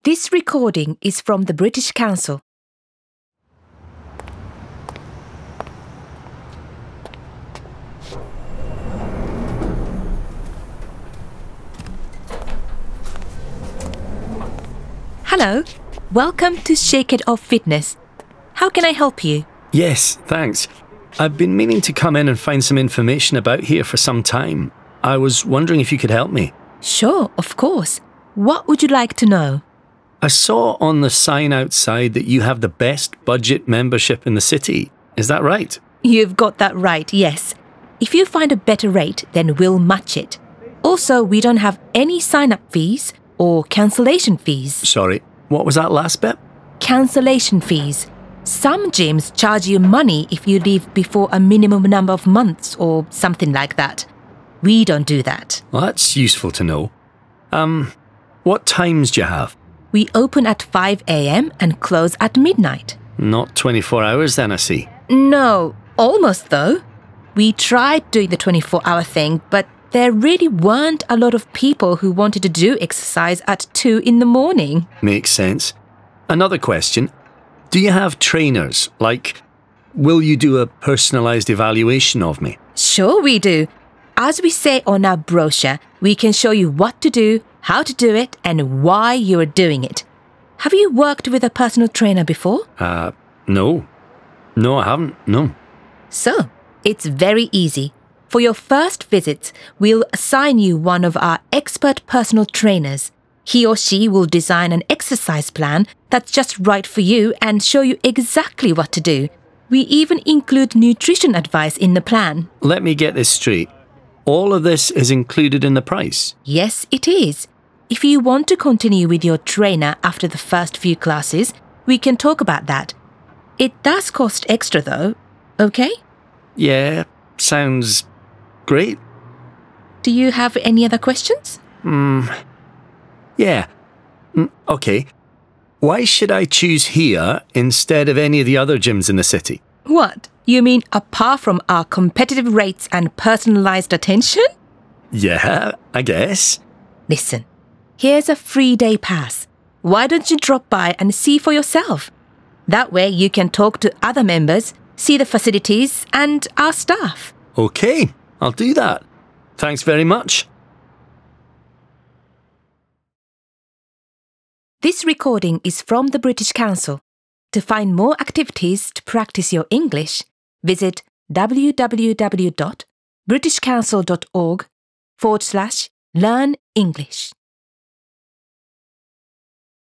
This recording is from the British Council. Hello, welcome to Shake It Off Fitness. How can I help you? Yes, thanks. I've been meaning to come in and find some information about here for some time. I was wondering if you could help me. Sure, of course. What would you like to know? I saw on the sign outside that you have the best budget membership in the city. Is that right? You've got that right, yes. If you find a better rate, then we'll match it. Also, we don't have any sign-up fees or cancellation fees. Sorry, what was that last bit? Cancellation fees. Some gyms charge you money if you leave before a minimum number of months or something like that. We don't do that. Well, that's useful to know. What times do you have? We open at 5 a.m. and close at midnight. Not 24 hours then, I see. No, almost though. We tried doing the 24-hour thing, but there really weren't a lot of people who wanted to do exercise at 2 in the morning. Makes sense. Another question. Do you have trainers? Like, will you do a personalised evaluation of me? Sure we do. As we say on our brochure, we can show you what to do, how to do it, and why you're doing it. Have you worked with a personal trainer before? No. No, I haven't, no. So, it's very easy. For your first visits, we'll assign you one of our expert personal trainers. He or she will design an exercise plan that's just right for you and show you exactly what to do. We even include nutrition advice in the plan. Let me get this straight. All of this is included in the price? Yes, it is. If you want to continue with your trainer after the first few classes, we can talk about that. It does cost extra though, okay? Yeah, sounds great. Do you have any other questions? Yeah. Okay. Why should I choose here instead of any of the other gyms in the city? What? You mean apart from our competitive rates and personalised attention? Yeah, I guess. Listen, here's a free day pass. Why don't you drop by and see for yourself? That way you can talk to other members, see the facilities and our staff. Okay, I'll do that. Thanks very much. This recording is from the British Council. To find more activities to practice your English, visit www.britishcouncil.org/learn English.